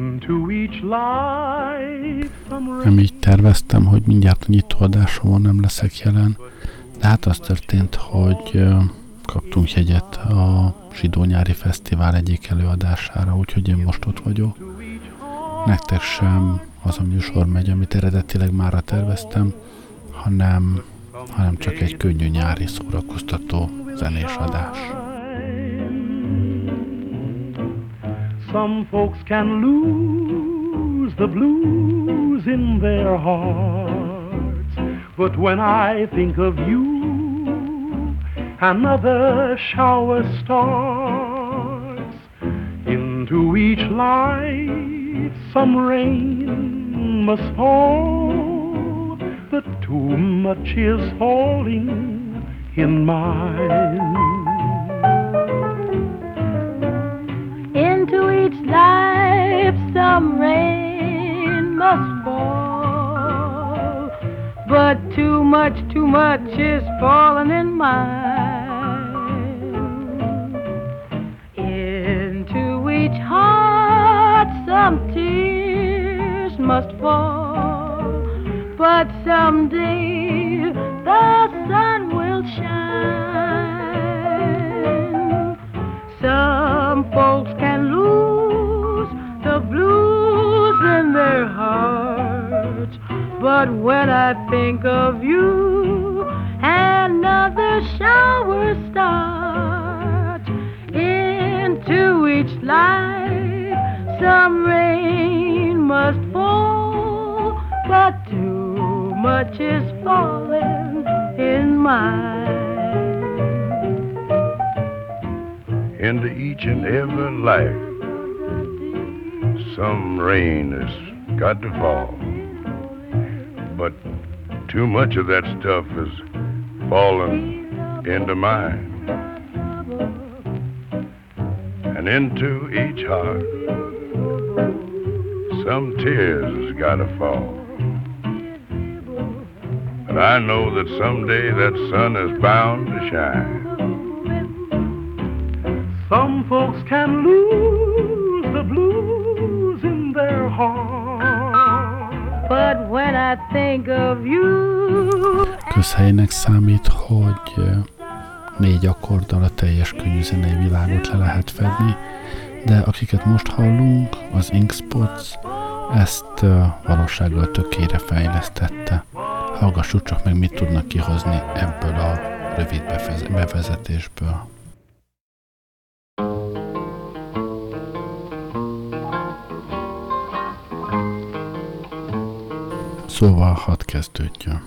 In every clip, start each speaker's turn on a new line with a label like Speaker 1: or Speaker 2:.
Speaker 1: Nem így terveztem, hogy mindjárt a nyitóadásomon nem leszek jelen, de hát az történt, hogy kaptunk jegyet a Zsidó Nyári Fesztivál egyik előadására, úgyhogy én most ott vagyok. Nektek sem az a műsor megy, amit eredetileg mára terveztem, hanem csak egy könnyű nyári szórakoztató zenés adás.
Speaker 2: Some folks can lose the blues in their hearts, but when I think of you, another shower starts. Into each life some rain must fall, but too much is falling in mine.
Speaker 3: Into each life some rain must fall, but too much is falling in mine. Into each heart some tears must fall, but someday the sun will shine. Some folks can lose the blues in their hearts, but when I think of you, another shower starts. Into each life some rain must fall, but too much is falling in mine.
Speaker 4: Into each and every life some rain has got to fall, but too much of that stuff is falling into mine. And into each heart some tears has got to fall, but I know that someday that sun is bound to shine.
Speaker 2: Some folks can lose the blues in their heart,
Speaker 3: but when I think of you.
Speaker 1: Közhelynek számít, hogy 4 akkorddal a teljes könnyű zenei világot le lehet fedni, de akiket most hallunk, az Ink Spots ezt valósággal tökére fejlesztette. Hallgassuk csak meg, mit tudnak kihozni ebből a rövid bevezetésből. Szóval hadd kezdődjön.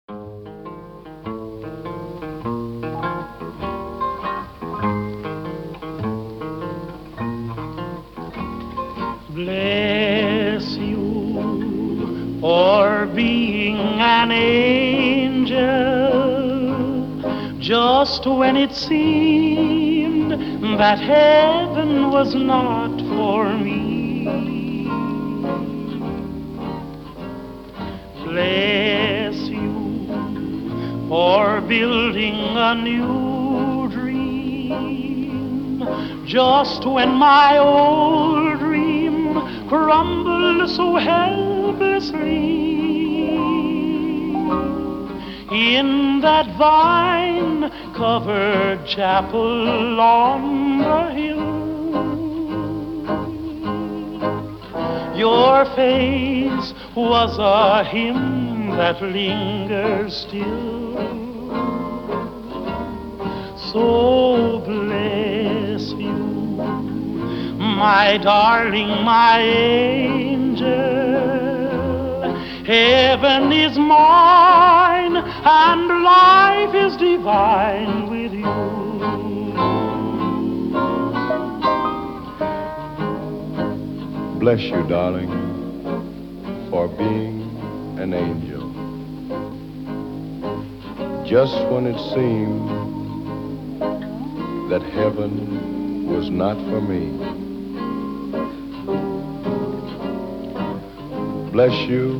Speaker 2: Bless you for being an angel, just when it seemed that heaven was not for me. Bless you for building a new dream, just when my old dream crumbled so helplessly. In that vine-covered chapel on the hill, your face was a hymn that lingers still. So bless you, my darling, my angel. Heaven is mine and life is divine with you.
Speaker 4: Bless you, darling, for being an angel. Just when it seemed that heaven was not for me. Bless you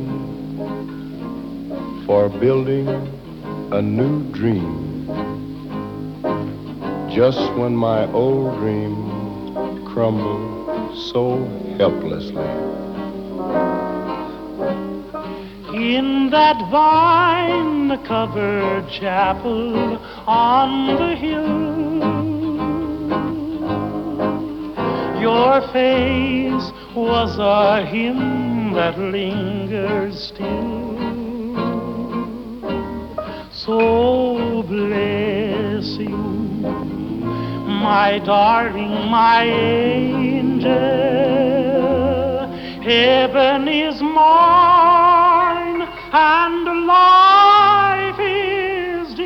Speaker 4: for building a new dream, just when my old dream crumbled so
Speaker 5: helplessly.
Speaker 2: In that vine-covered chapel on the hill, your face was a hymn that lingers still. So bless you, my darling, my angel. Heaven is mine and life is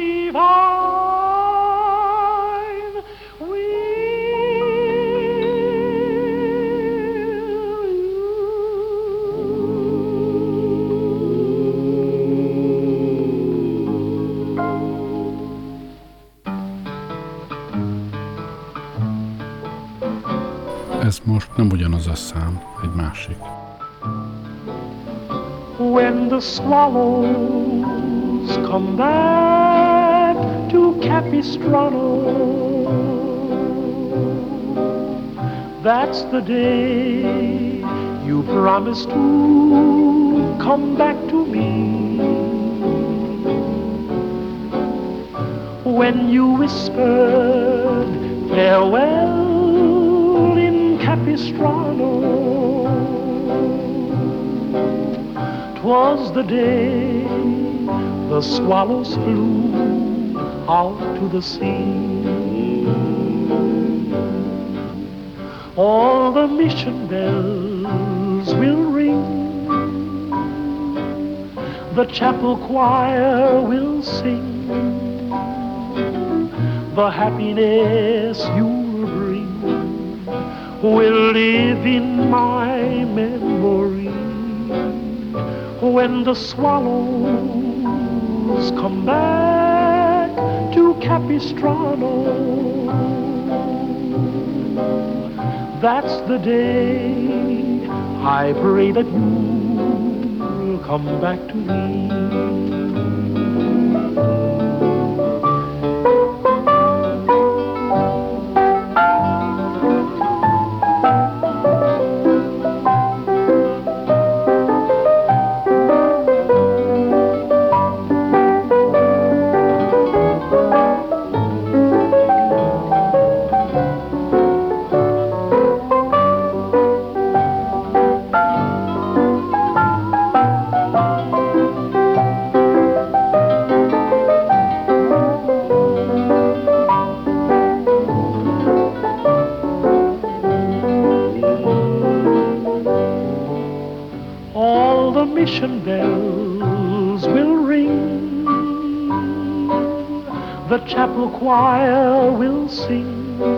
Speaker 2: divine.
Speaker 1: Ez most nem ugyanaz a szám, egy másik.
Speaker 2: When the swallows come back to Capistrano, that's the day you promised to come back to me. When you whispered farewell in Capistrano, 'twas the day the swallows flew out to the sea. All the mission bells will ring, the chapel choir will sing, the happiness you'll bring will live in my memory. When the swallows come back to Capistrano, that's the day I pray that you'll come back to me. Mission bells will ring, the chapel choir will sing,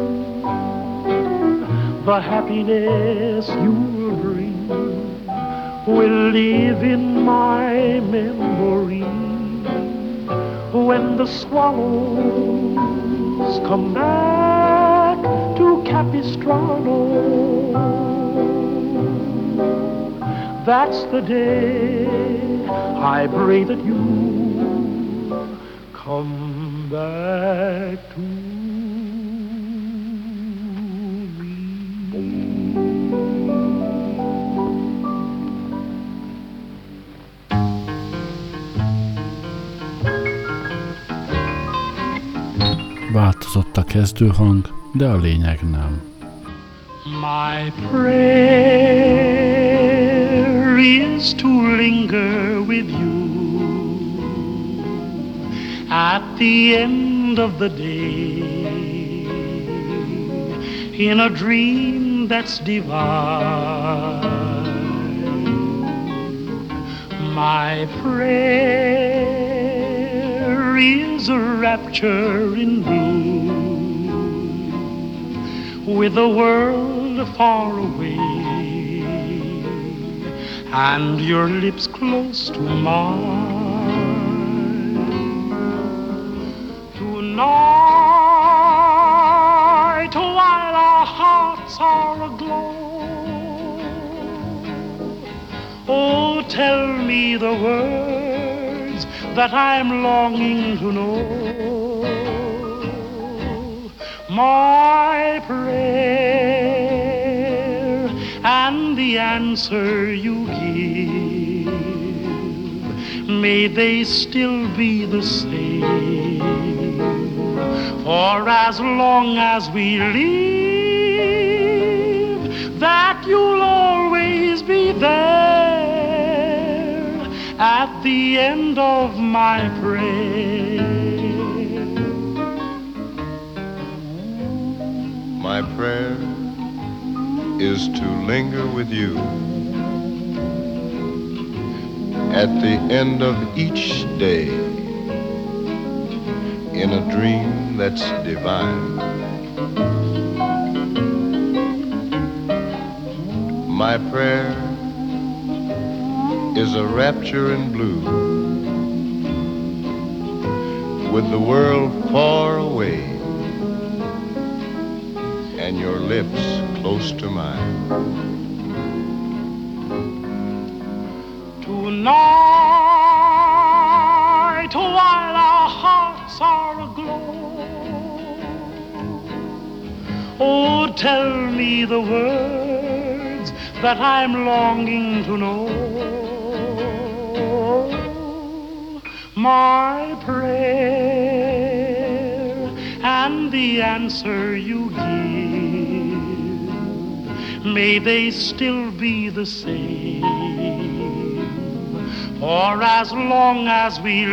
Speaker 2: the happiness you'll bring will live in my memory. When the swallows come back to Capistrano, that's the day I pray that you come back to me.
Speaker 1: Változott a kezdőhang, de a lényeg nem.
Speaker 2: My prayer is to linger with you at the end of the day in a dream that's divine. My prayer is a rapture in blue with the world far away and your lips close to mine. Tonight, while our hearts are aglow, oh, tell me the words that I'm longing to know. My prayer and and the answer you give, may they still be the same. For as long as we live, that you'll always be there at the end of my prayer.
Speaker 4: My prayer is to linger with you at the end of each day in a dream that's divine. My prayer is a rapture in blue with the world far away and your lips close to mine.
Speaker 2: Tonight, while our hearts are aglow, oh, tell me the words that I'm longing to know. My prayer and the answer you give, may they still be the same. For as long as we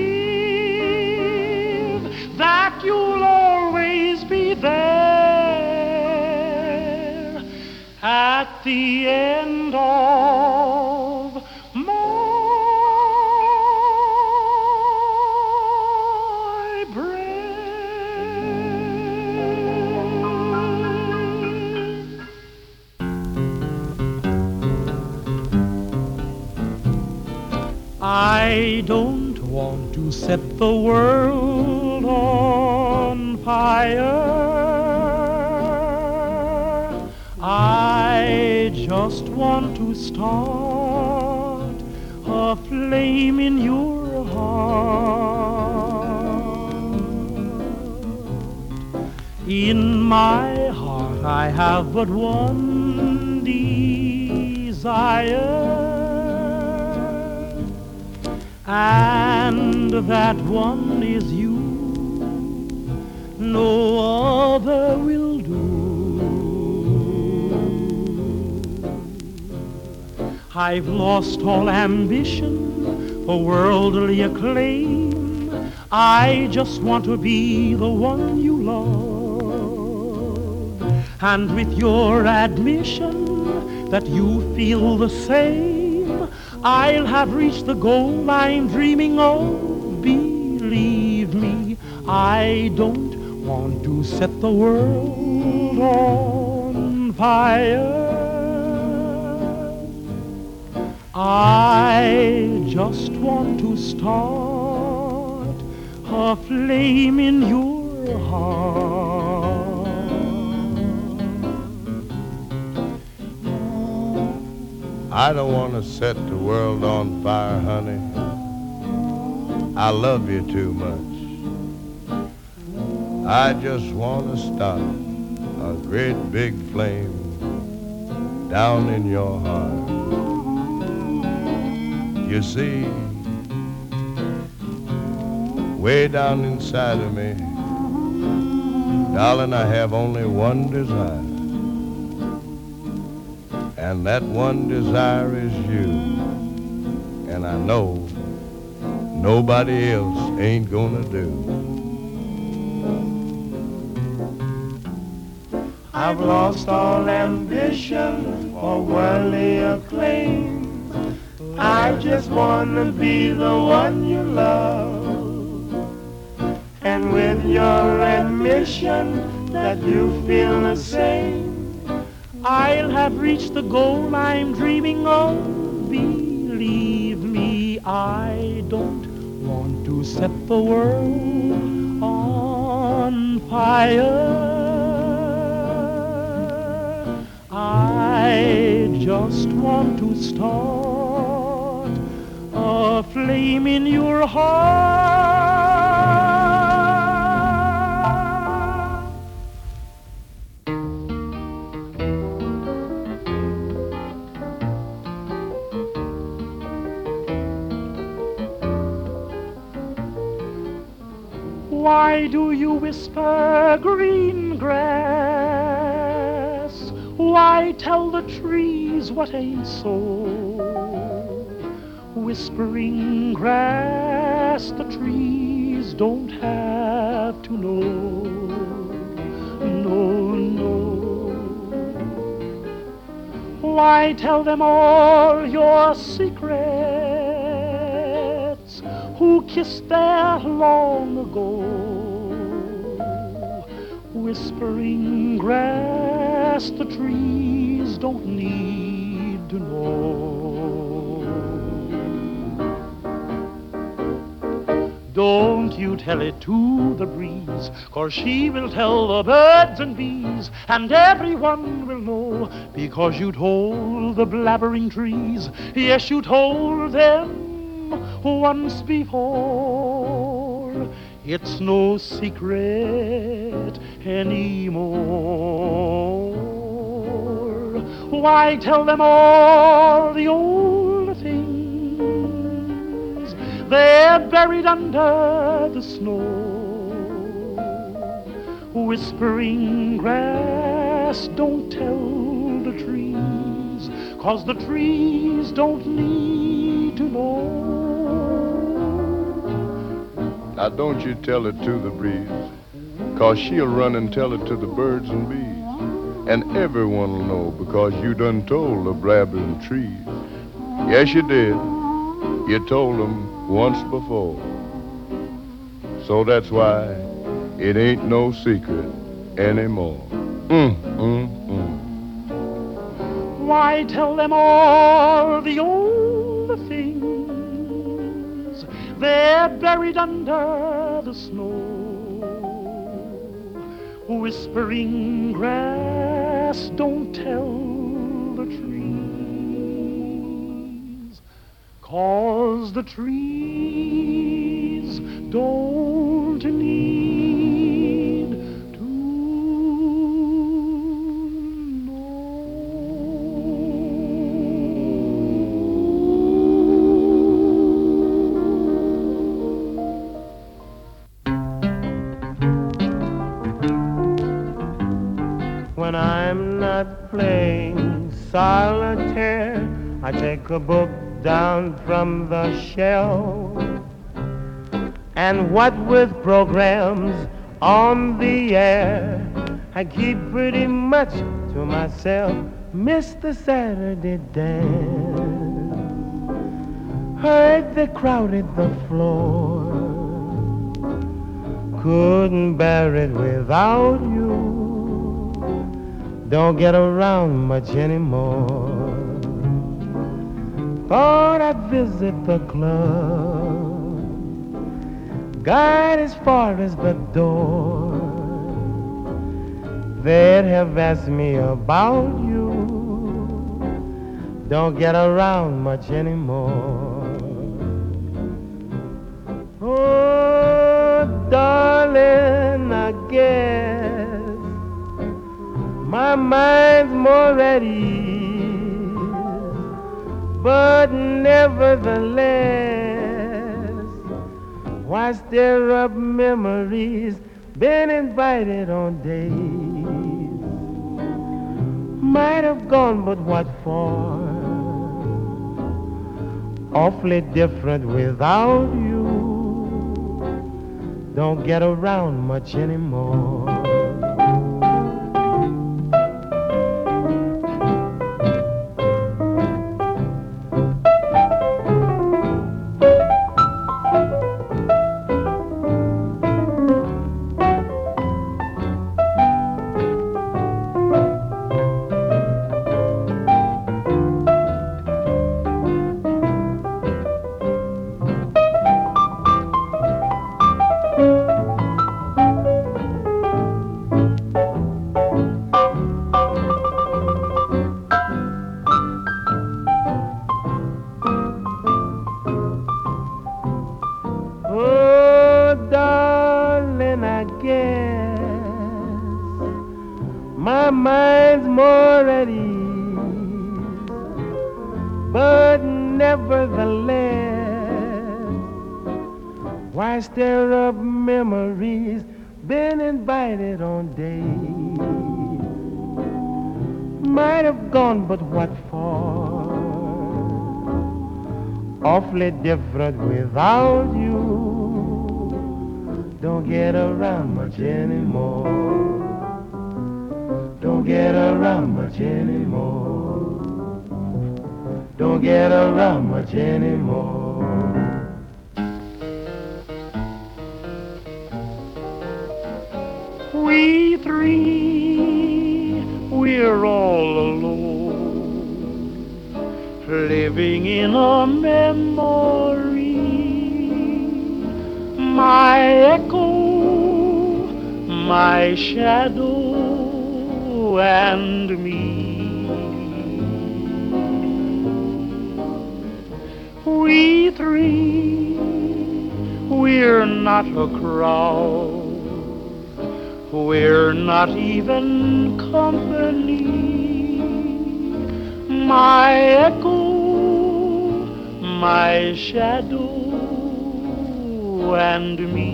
Speaker 2: live, that you'll always be there at the end of my I don't want to set the world on fire. I just want to start a flame in your heart. In my heart I have but one desire, and that one is you. No other will do. I've lost all ambition for worldly acclaim. I just want to be the one you love, and with your admission that you feel the same, I'll have reached the goal I'm dreaming of. Believe me, I don't want to set the world on fire. I just want to start a flame in your heart.
Speaker 4: I don't want to set the world on fire, honey. I love you too much. I just want to start a great big flame down in your heart. You see, way down inside of me, darling, I have only one desire. And that one desire is you. And I know nobody else ain't gonna do.
Speaker 2: I've lost all ambition for worldly acclaim. I just wanna be the one you love. And with your admission that you feel the same, I'll have reached the goal I'm dreaming of. Believe me, I don't want to set the world on fire. I just want to start a flame in your heart. Why do you whisper green grass? Why tell the trees what ain't so? Whispering grass, the trees don't have to know. No, no. Why tell them all your secrets? Who kissed there long ago? Whispering grass, the trees don't need to know. Don't you tell it to the breeze, 'cause she will tell the birds and bees, and everyone will know, because you told the blabbering trees. Yes, you told them once before. It's no secret anymore. Why tell them all the old things? They're buried under the snow. Whispering grass, don't tell the trees, 'cause the trees don't need to know.
Speaker 4: Now don't you tell it to the breeze, 'cause she'll run and tell it to the birds and bees. And everyone will know, because you done told the blabbering trees. Yes, you did. You told them once before. So that's why it ain't no secret anymore.
Speaker 2: Why tell them all the old things? They're buried under the snow. Whispering grass, don't tell the trees, 'cause the trees don't need to know.
Speaker 5: When I'm not playing solitaire, I take a book down from the shelf, and what with programs on the air, I keep pretty much to myself. Miss the Saturday dance, heard they crowded the floor, couldn't bear it without you, don't get around much anymore. Thought I'd visit the club, got as far as the door, they'd have asked me about you, don't get around much anymore. Oh, darling, I guess my mind's more at ease, but nevertheless, why stir up memories? Been invited on days, might have gone, but what for? Awfully different without you, don't get around much anymore. My mind's more at ease, but nevertheless, Why stir up memories, been invited on days? Might have gone, but what for? Awfully different without you. Don't get around much anymore. Don't get around much anymore. Don't get around much anymore.
Speaker 2: We three, we're all alone, living in a memory. My echo, my shadow, and me. We three, we're not a crowd. We're not even company. My echo, my shadow, and me.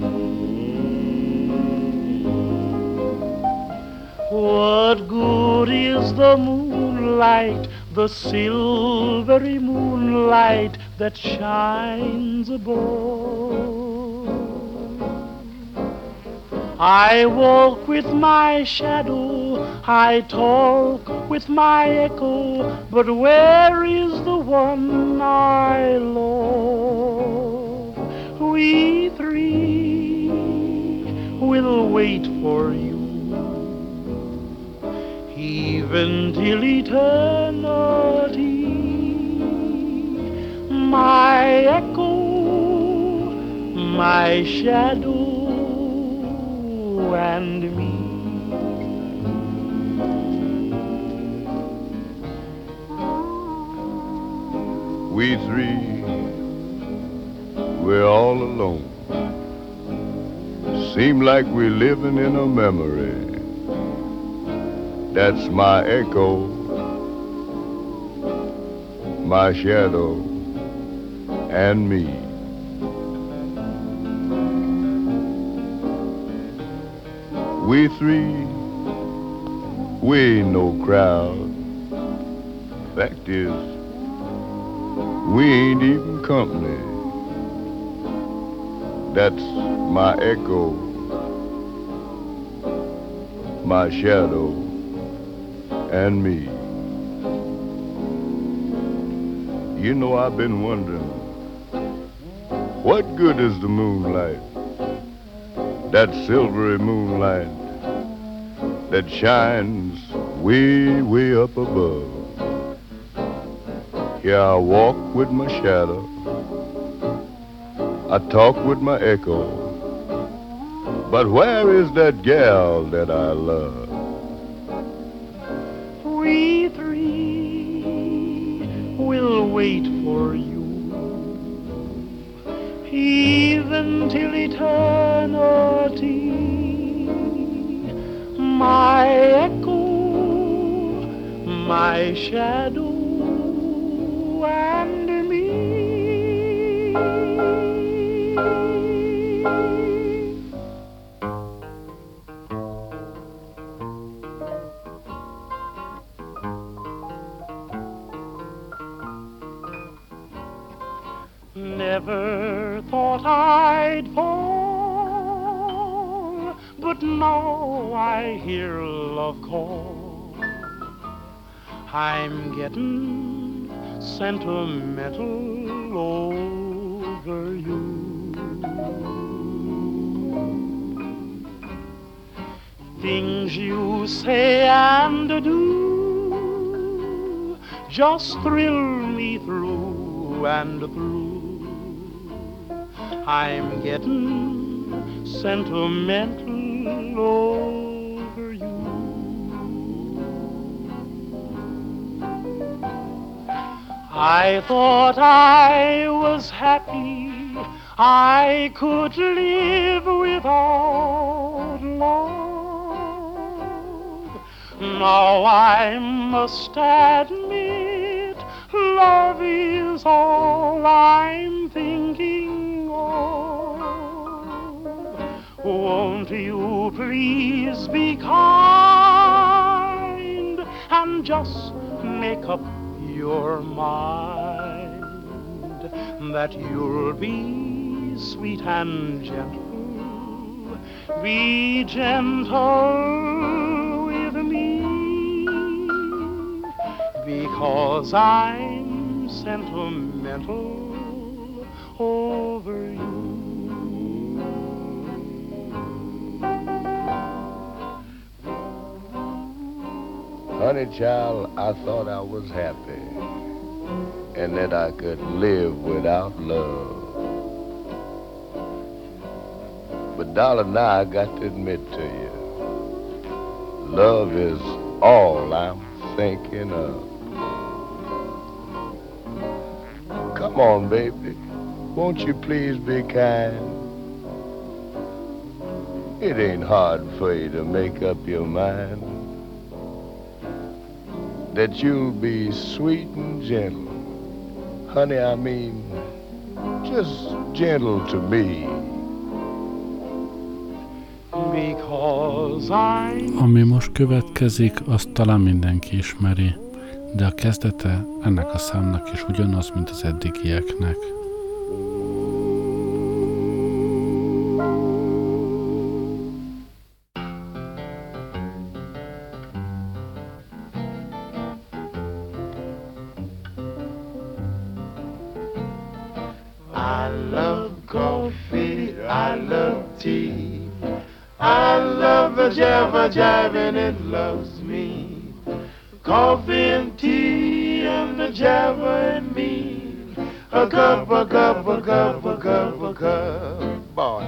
Speaker 2: What good is the moonlight, the silvery moonlight that shines above? I walk with my shadow, I talk with my echo, but where is the one I love? We three will wait for you, even till eternity. My echo, my shadow, and me.
Speaker 4: We three, we're all alone. Seem like we're living in a memory. That's my echo, my shadow, and me. We three, we ain't no crowd. Fact is, we ain't even company. That's my echo, my shadow, and me. You know, I've been wondering, what good is the moonlight? That silvery moonlight that shines way, way up above. Here I walk with my shadow, I talk with my echo, but where is that gal that I love?
Speaker 2: We three will wait for you, even till eternity. My echo, my shadow, and me. Never thought I'd fall, but now I hear love call. I'm getting sentimental over you. Things you say and do just thrill me through and through. I'm getting sentimental over you. I thought I was happy, I could live without love. Now I must admit, love is all I'm thinking of. please be kind and just make up your mind that you'll be sweet and gentle. Be gentle with me, because I'm sentimental over you.
Speaker 4: Honey child, I thought I was happy and that I could live without love. But darling, now I got to admit to you, love is all I'm thinking of. Come on, baby, won't you please be kind? It ain't hard for you to make up your mind that you'll be sweet and gentle. Honey, I mean, just gentle to me.
Speaker 2: Because I'm...
Speaker 1: Ami most következik, azt talán mindenki ismeri, de a kezdete ennek a számnak is ugyanaz, mint az eddigieknek.
Speaker 5: I love coffee, I love tea, I love the jabba jive and it loves me. Coffee and tea and the jabba and me. A cup, a cup, a cup, a cup, a cup, boy.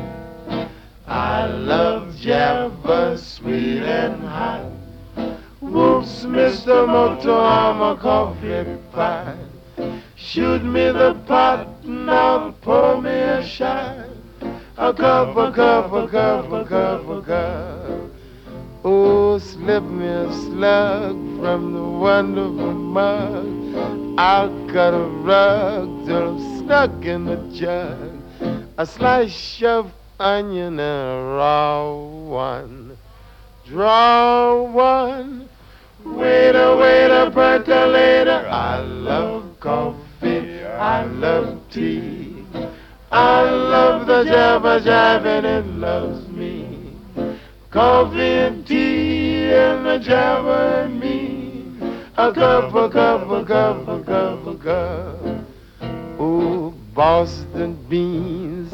Speaker 5: I love jabba, sweet and hot. Whoops, Mr. Moto, I'm a coffee pot. Shoot me the pot, now pour me a shot. A cup, a cup, a cup, a cup, a cup. Oh, slip me a slug from the wonderful mug. I'll cut a rug till I'm stuck in the jug. A slice of onion and a raw one. Draw one. Waiter, waiter, percolator. I love coffee, I love tea. I love the jabba jive and it loves me. Coffee and tea and the jabba and me. A cup, a cup, a cup, a cup, a cup. Oh, Boston beans,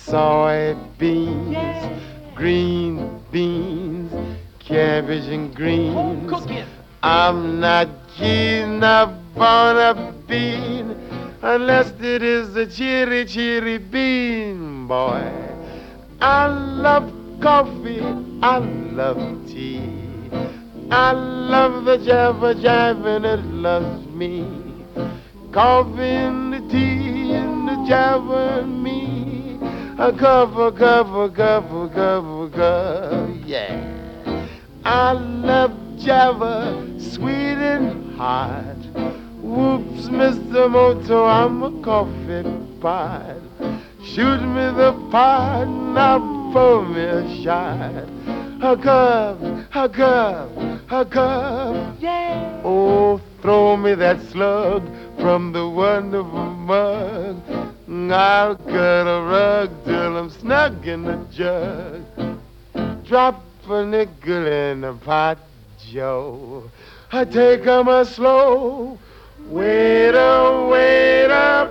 Speaker 5: soybeans, green beans, cabbage and greens. I'm not keen upon a bean unless it is a cherry, cherry bean, boy. I love coffee, I love tea. I love the jabba jive and it loves me. Coffee and the tea and the jabba and me. A cup, a cup, a cup, a cup, a cup, yeah. I love jabba, sweet and hot. Whoops, Mr. Moto, I'm a coffee pot. Shoot me the pot, now pour me a shot. A cup, a cup, a cup, yeah. Oh, throw me that slug from the wonderful mug. I'll cut a rug till I'm snug in the jug. Drop a nickel in the pot, Joe. I take 'em a slow. Waiter, waiter,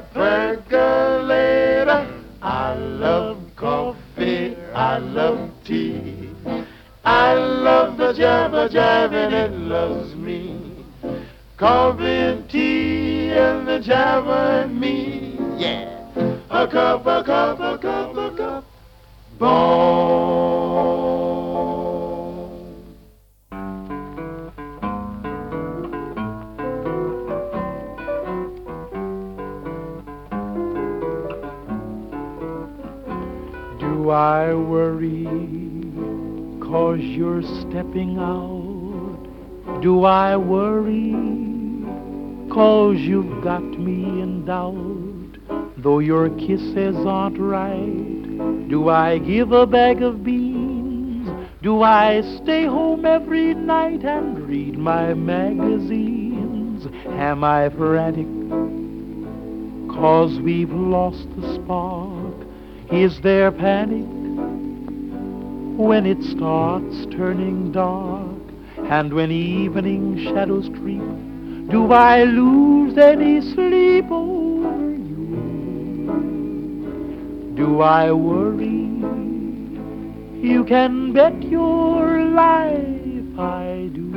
Speaker 5: percolator. I love coffee, I love tea. I love the jabba jive and it loves me. Coffee and tea and the jabba and me. Yeah. A cup, a cup, a cup, a cup. Boom.
Speaker 2: Do I worry 'cause you're stepping out? Do I worry 'cause you've got me in doubt? Though your kisses aren't right, do I give a bag of beans? Do I stay home every night and read my magazines? Am I frantic 'cause we've lost the spark? Is there panic when it starts turning dark? And when evening shadows creep, do I lose any sleep over you? Do I worry? You can bet your life I do.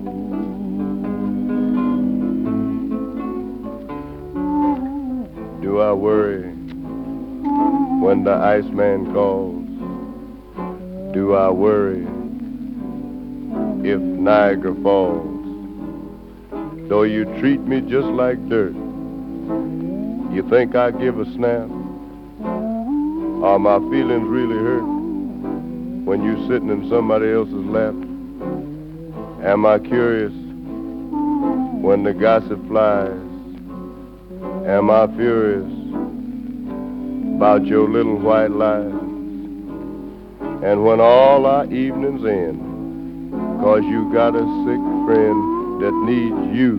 Speaker 4: Do I worry when the Iceman calls? Do I worry if Niagara falls? Though you treat me just like dirt, you think I give a snap? Are my feelings really hurt when you sitting in somebody else's lap? Am I curious when the gossip flies? Am I furious about your little white lies? And when all our evenings end, 'cause you got a sick friend that needs you,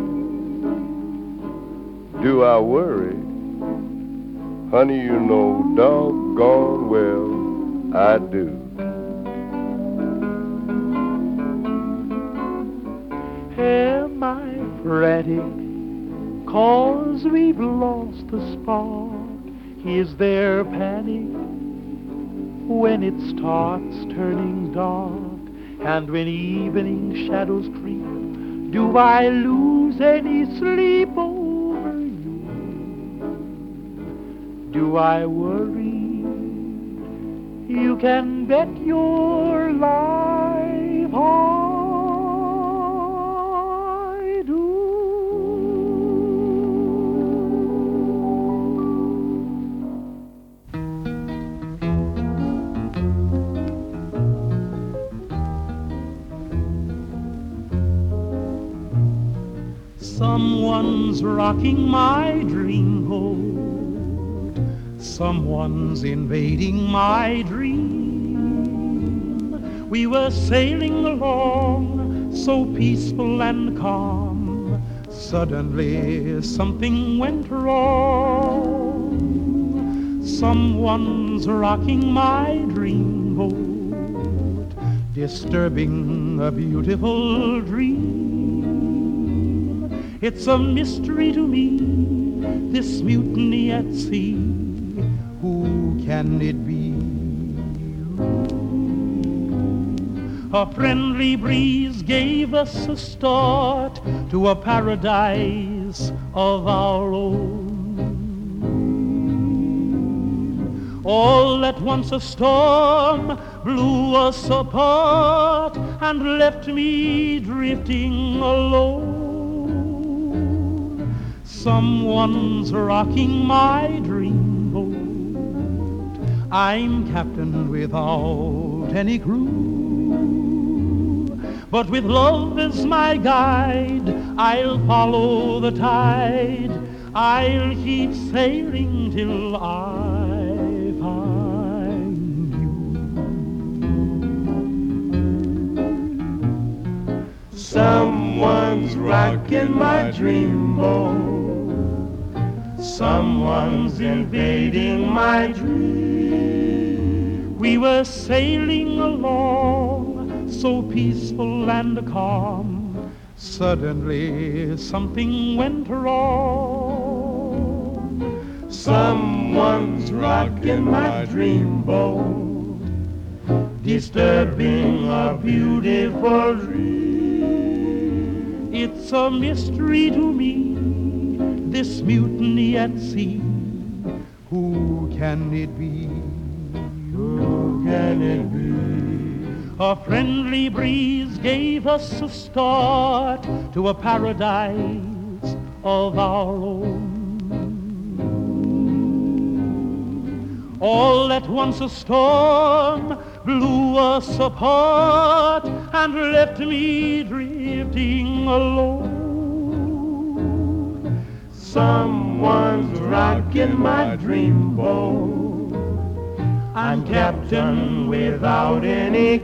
Speaker 4: do I worry? Honey, you know doggone well I do.
Speaker 2: Am I frantic 'cause we've lost the spark? Is there panic when it starts turning dark? And when evening shadows creep, do I lose any sleep over you? Do I worry? You can bet your life I do. Someone's rocking my dreamboat. Someone's invading my dream. We were sailing along so peaceful and calm. Suddenly something went wrong. Someone's rocking my dreamboat, disturbing a beautiful dream. It's a mystery to me, this mutiny at sea. Who can it be? A friendly breeze gave us a start to a paradise of our own. All at once a storm blew us apart and left me drifting alone. Someone's rocking my dreamboat. I'm captain without any crew, but with love as my guide, I'll follow the tide. I'll keep sailing till I find you.
Speaker 5: Someone's rocking my dreamboat. Someone's invading my dream.
Speaker 2: We were sailing along so peaceful and calm. Suddenly something went wrong.
Speaker 5: Someone's rocking my dreamboat, disturbing a beautiful dream.
Speaker 2: It's a mystery to me, this mutiny at sea. Who can it be?
Speaker 5: Who can it be?
Speaker 2: A friendly breeze gave us a start to a paradise of our own. All at once a storm blew us apart and left me drifting alone.
Speaker 5: Someone's rocking my dreamboat.
Speaker 2: I'm captain without any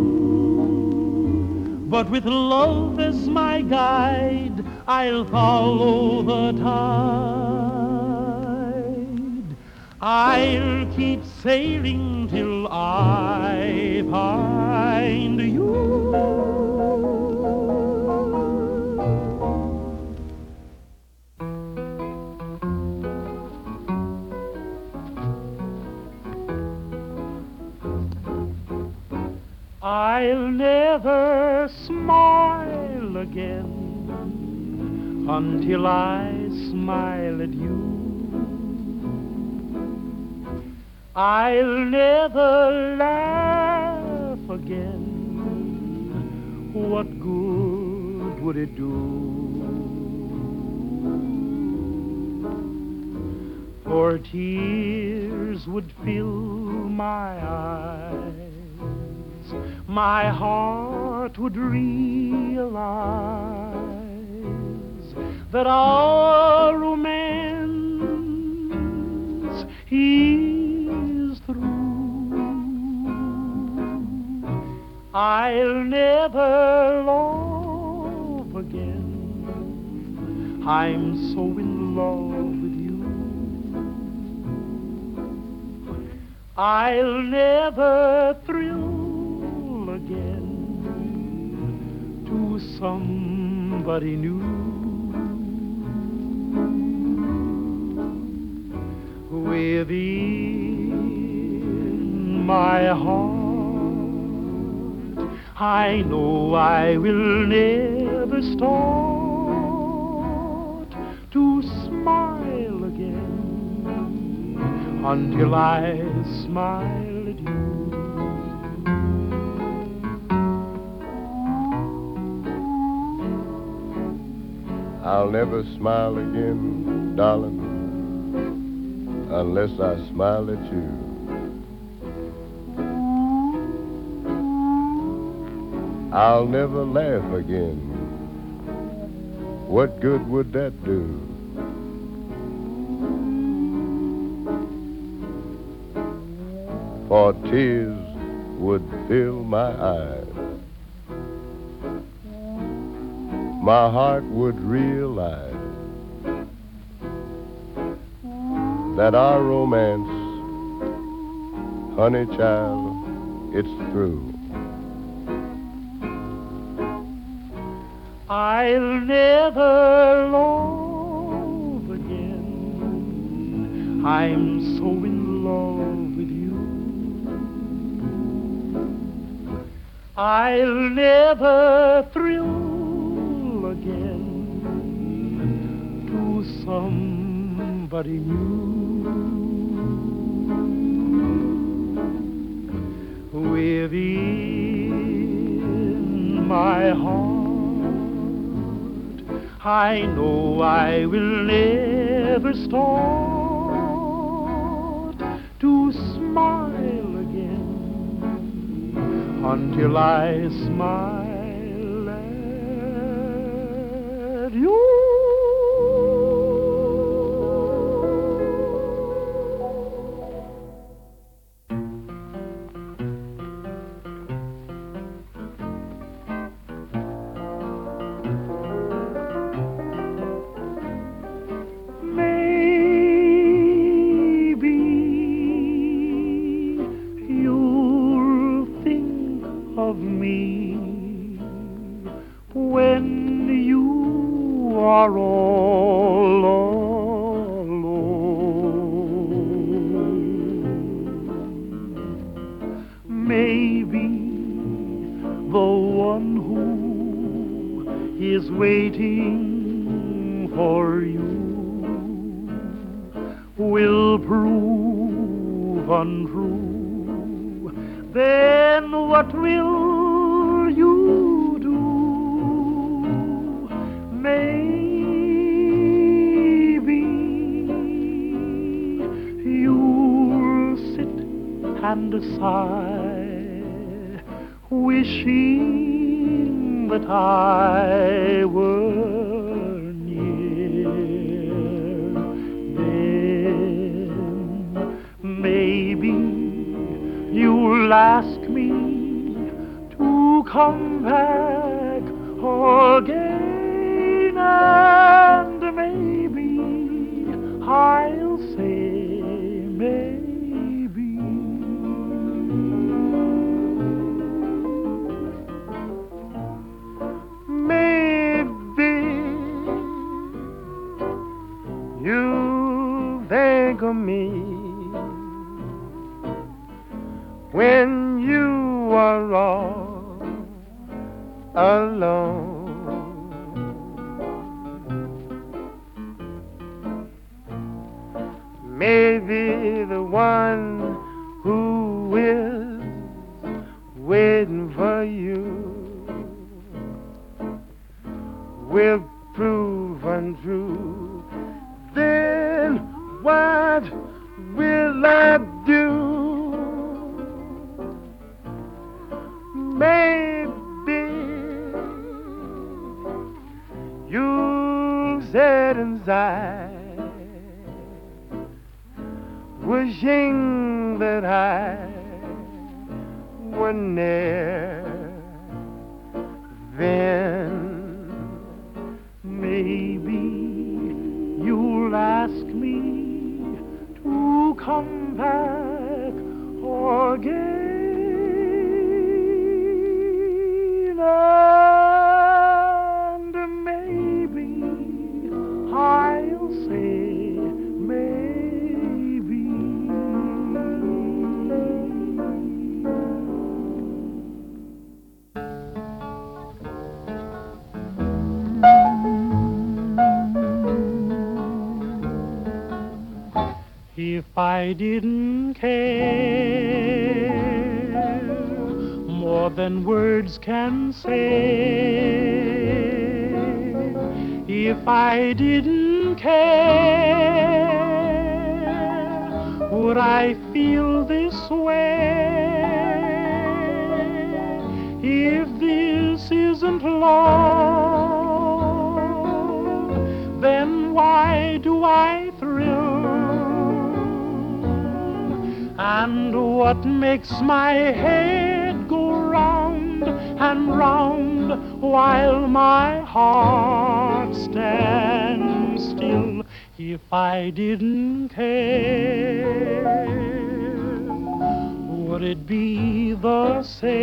Speaker 2: crew, but with love as my guide, I'll follow the tide. I'll keep sailing till I find you. I'll never smile again until I smile at you. I'll never laugh again. What good would it do? For tears would fill my eyes. My heart would realize that our romance is through. I'll never love again. I'm so in love with you. I'll never thrill again to somebody new. Within my heart, I know I will never start to smile again until I smile at you.
Speaker 4: I'll never smile again, darling, unless I smile at you. I'll never laugh again. What good would that do? For tears would fill my eyes. My heart would realize that our romance, honey child, it's through.
Speaker 2: I'll never love again. I'm so in love with you. I'll never thrill again to somebody new. Within my heart, I know I will never start to smile again until I smile at you. Waiting for you will prove untrue. Then what will you do? Maybe you'll sit and sigh, wishing that I were near. Then maybe you'll ask me to come back again, and maybe I'll say maybe. Maybe you think of me when you are all alone. Maybe the one who is waiting for you will prove untrue. Then what will I do? Maybe you sit inside wishing that I were near. Then maybe you'll ask me to come back again, and maybe I'll say maybe. If I didn't care more than words can say, if I didn't care, would I feel this way? If this isn't love, then why do I thrill? And what makes my head go round and round while my heart stands still? If I didn't care, would it be the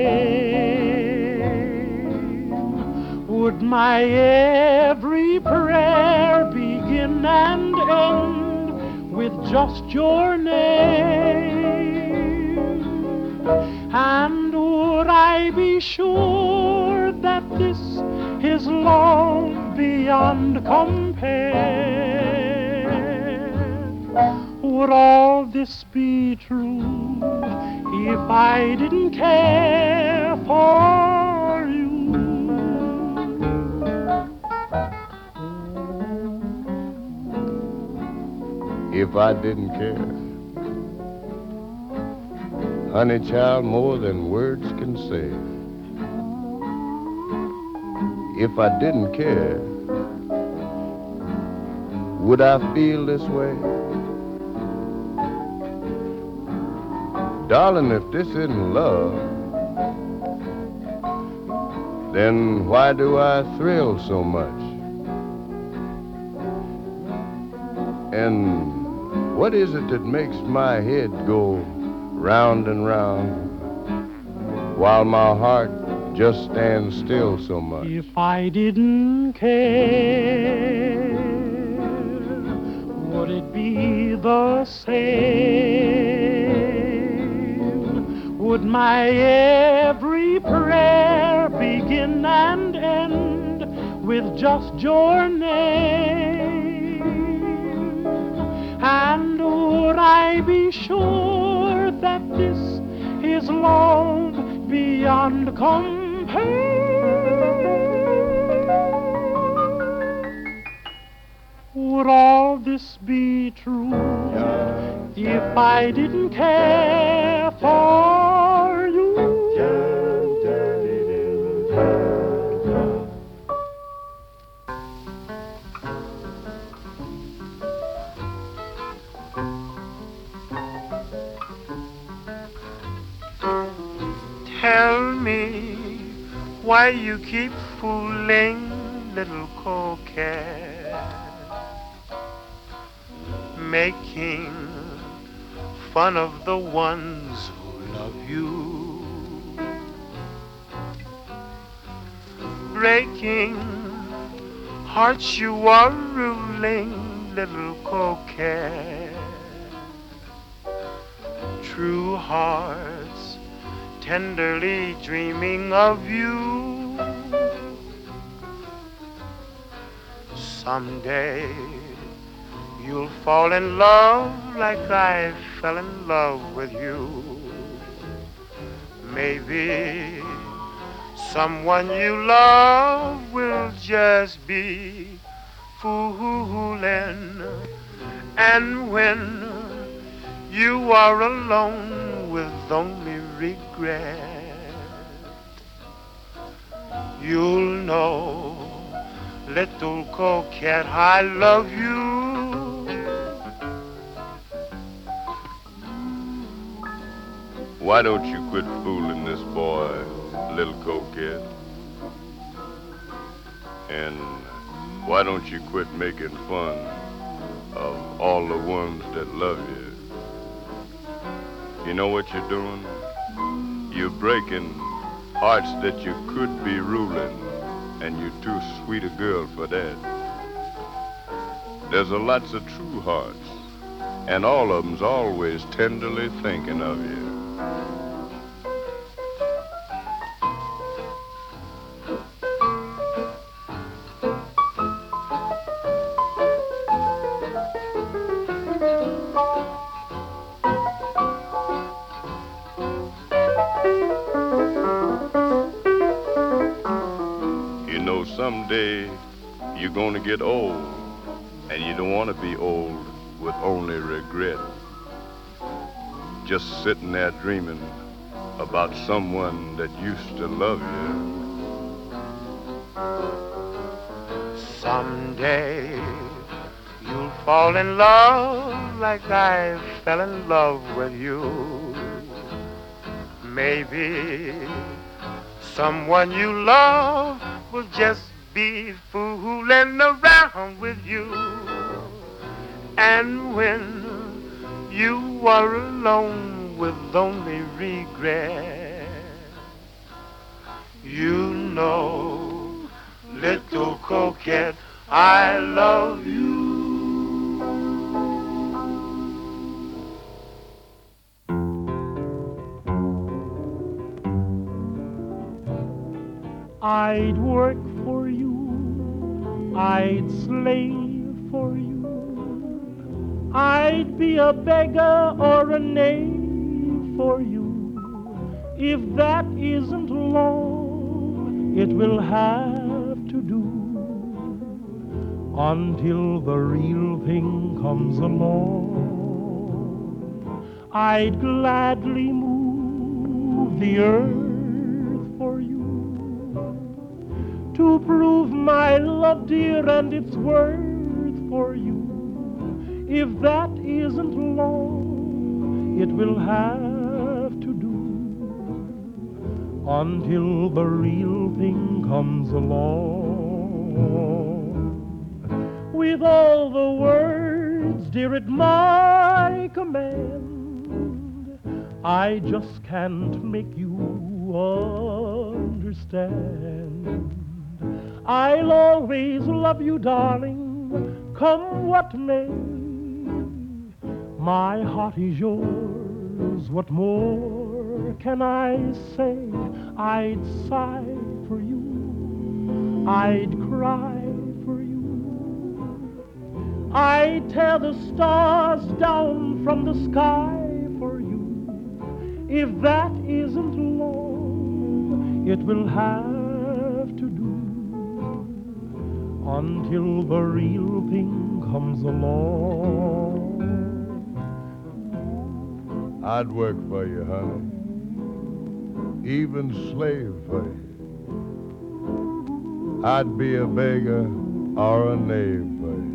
Speaker 2: same? Would my every prayer begin and end with just your name? And would I be sure that this is love beyond compare? Would all this be true if I didn't care for you?
Speaker 4: If I didn't care, honey child, more than words can say. If I didn't care, would I feel this way? Darling, if this isn't love, then why do I thrill so much? And what is it that makes my head go round and round while my heart just stands still so much?
Speaker 2: If I didn't care, would it be the same? Would my every prayer begin and end with just your name? And would I be sure that this is love beyond compare? Would all this be true if I didn't care for you?
Speaker 5: Why you keep fooling, little coquette, making fun of the ones who love you, breaking hearts you are ruling, little coquette. True hearts tenderly dreaming of you. Someday you'll fall in love like I fell in love with you. Maybe someone you love will just be fooling. And when you are alone with only regret, you'll know, little coquette, I love you.
Speaker 4: Why don't you quit fooling this boy, little coquette? And why don't you quit making fun of all the ones that love you? You know what you're doing? You're breaking hearts that you could be ruling, and you're too sweet a girl for that. There's a lots of true hearts, and all of them's always tenderly thinking of you. Someday you're gonna get old, and you don't want to be old with only regret. Just sitting there dreaming about someone that used to love you.
Speaker 5: Someday you'll fall in love like I fell in love with you. Maybe someone you love will just be fooling around with you. And when you are alone with only regret, you know, little coquette, I love you.
Speaker 2: I'd work for you, I'd slave for you, I'd be a beggar or a knave for you. If that isn't long, it will have to do until the real thing comes along. I'd gladly move the earth for you, to prove my love, dear, and its worth for you. If that isn't long, it will have to do until the real thing comes along. With all the words, dear, at my command, I just can't make you understand. I'll always love you, darling, come what may. My heart is yours, what more can I say? I'd sigh for you, I'd cry for you, I'd tear the stars down from the sky for you. If that isn't long, it will have to do until the real thing comes along.
Speaker 4: I'd work for you, honey, even slave for you. I'd be a beggar or a knave for you.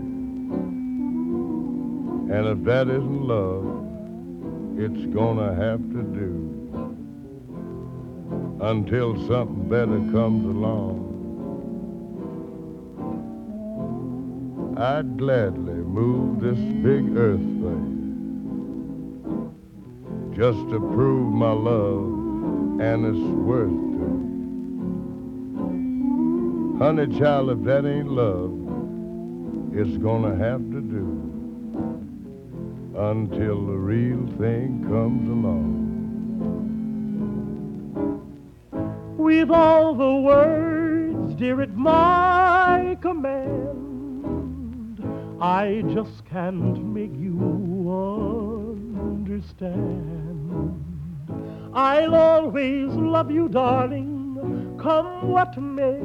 Speaker 4: And if that isn't love, it's gonna have to do until something better comes along. I'd gladly move this big earth thing just to prove my love and its worth to me. Honey child, if that ain't love, it's gonna have to do until the real thing comes along.
Speaker 2: With all the words, dear, at my command, I just can't make you understand. I'll always love you, darling, come what may.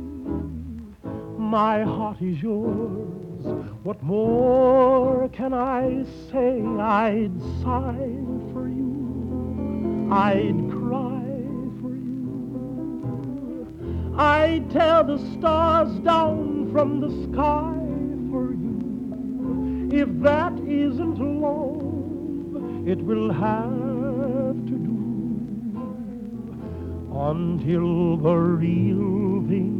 Speaker 2: My heart is yours, what more can I say? I'd sigh for you, I'd cry for you, I'd tear the stars down from the sky for you. If that isn't love, it will have to do until the real thing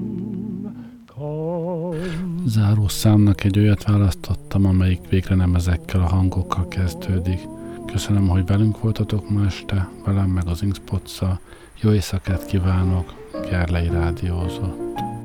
Speaker 2: comes.
Speaker 1: Záró számnak egy olyat választottam, amelyik végre nem ezekkel a hangokkal kezdődik. Köszönöm, hogy velünk voltatok ma este, velem meg az Inkspots-szal. Jó éjszakát kívánok, Gerlei rádiózott.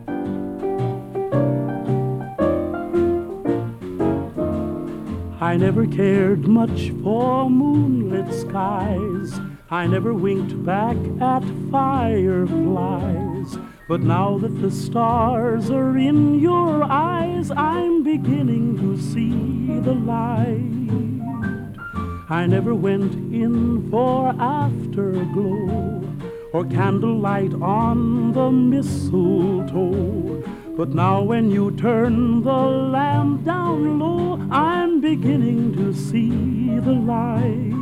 Speaker 2: I never cared much for moonlit skies. I never winked back at fireflies. But now that the stars are in your eyes, I'm beginning to see the light. I never went in for afterglow or candlelight on the mistletoe. But now when you turn the lamp down low, I'm beginning to see the light.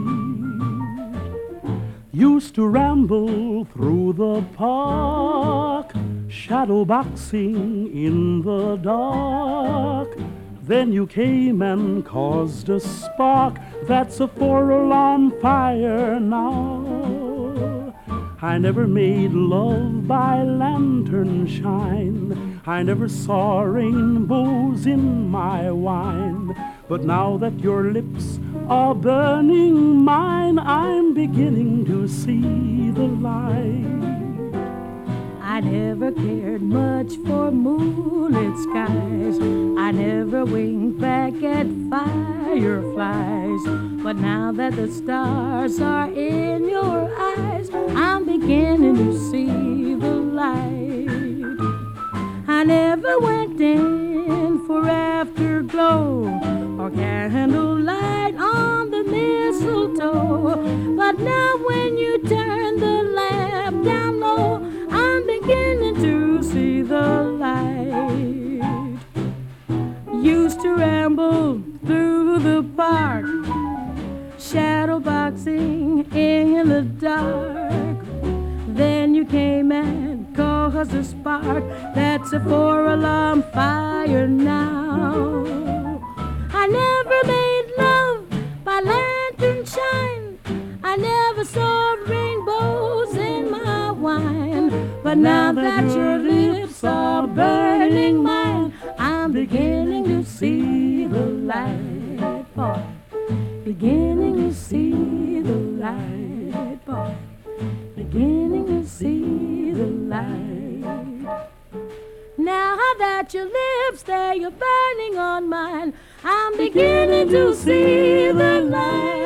Speaker 2: Used to ramble through the park, shadow boxing in the dark. Then you came and caused a spark that's a 4-alarm fire now. I never made love by lantern shine. I never saw rainbows in my wine. But now that your lips are burning mine, I'm beginning to see the light.
Speaker 3: I never cared much for moonlit skies. I never winked back at fireflies. But now that the stars are in your eyes, I'm beginning to see the light. I never went in for afterglow or candlelight on the mistletoe. But now when you turn the lamp down low, I'm beginning to see the light. Used to ramble through the park, shadow boxing in the dark. Then you came and caused a spark that's a 4-alarm fire now. I never made love by lantern shine. I never saw rainbows in my wine. But now that your lips are burning mine, I'm beginning to see the light, boy. Beginning to see the light, boy. Beginning to see the light. Now that your lips there, you're burning on mine, I'm beginning to see the light.